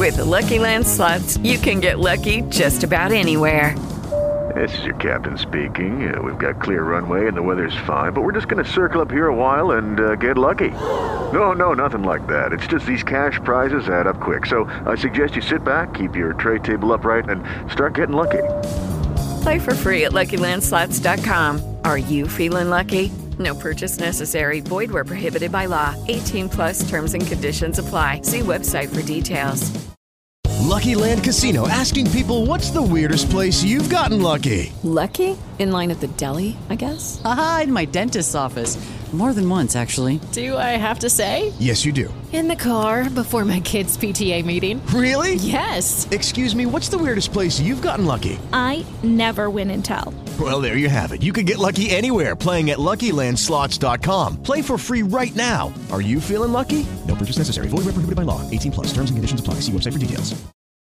With the Lucky Land Slots, you can get lucky just about anywhere. This is your captain speaking. We've got clear runway and the weather's fine, but we're just going to circle up here a while and get lucky. No, nothing like that. It's just these cash prizes add up quick. So I suggest you sit back, keep your tray table upright, and start getting lucky. Play for free at LuckyLandSlots.com. Are you feeling lucky? No purchase necessary. Void where prohibited by law. 18 plus terms and conditions apply. See website for details. Lucky Land Casino, asking people, what's the weirdest place you've gotten lucky? Lucky? In line at the deli, I guess? Aha, in my dentist's office. More than once, actually. Do I have to say? Yes, you do. In the car before my kids' PTA meeting. Really? Yes. Excuse me, what's the weirdest place you've gotten lucky? I never win and tell. Well, there you have it. You can get lucky anywhere, playing at LuckyLandSlots.com. Play for free right now. Are you feeling lucky? No purchase necessary. Void where prohibited by law. 18 plus. Terms and conditions apply. See website for details.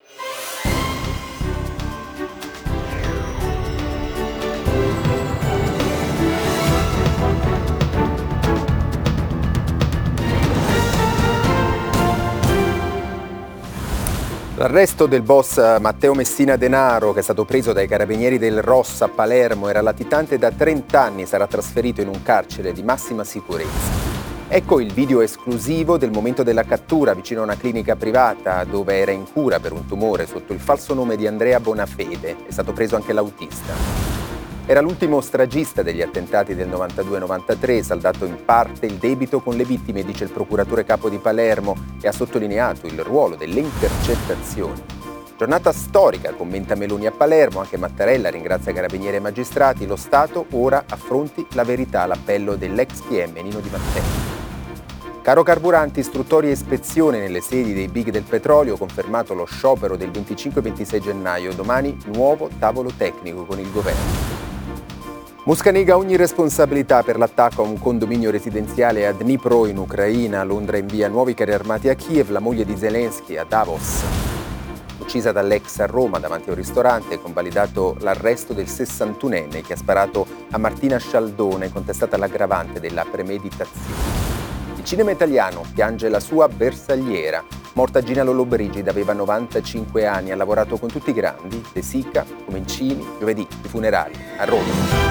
L'arresto del boss Matteo Messina Denaro, che è stato preso dai carabinieri del Rossa a Palermo, era latitante da 30 anni e sarà trasferito in un carcere di massima sicurezza. Ecco il video esclusivo del momento della cattura vicino a una clinica privata dove era in cura per un tumore sotto il falso nome di Andrea Bonafede. È stato preso anche l'autista. Era l'ultimo stragista degli attentati del 92-93, saldato in parte il debito con le vittime, dice il procuratore capo di Palermo, e ha sottolineato il ruolo delle intercettazioni. Giornata storica, commenta Meloni a Palermo, anche Mattarella ringrazia carabinieri e magistrati, lo Stato ora affronti la verità, l'appello dell'ex PM Nino Di Matteo. Caro carburanti, istruttoria e ispezione nelle sedi dei big del petrolio, confermato lo sciopero del 25-26 gennaio, domani nuovo tavolo tecnico con il governo. Mosca nega ogni responsabilità per l'attacco a un condominio residenziale a Dnipro in Ucraina. Londra invia nuovi carri armati a Kiev, la moglie di Zelensky a Davos. Uccisa dall'ex a Roma davanti a un ristorante, convalidato l'arresto del 61enne che ha sparato a Martina Scialdone, contestata l'aggravante della premeditazione. Il cinema italiano piange la sua bersagliera. Morta Gina Lollobrigida, aveva 95 anni, ha lavorato con tutti i grandi, De Sica, Comencini, giovedì, i funerali a Roma.